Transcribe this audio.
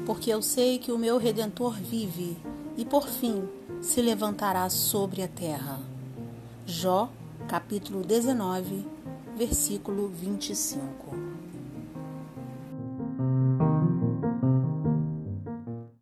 porque eu sei que o meu Redentor vive e, por fim, se levantará sobre a terra. Jó, capítulo 19, versículo 25.